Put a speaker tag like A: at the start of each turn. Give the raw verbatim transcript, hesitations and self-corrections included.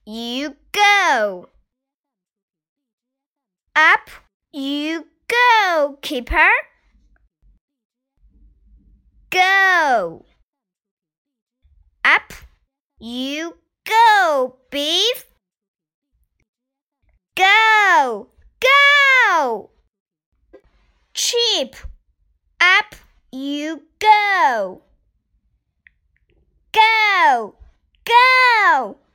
A: you go. Up you go, keeper. Go. Up you go, beef. Go, go. Sheep. Up you go. Go, go.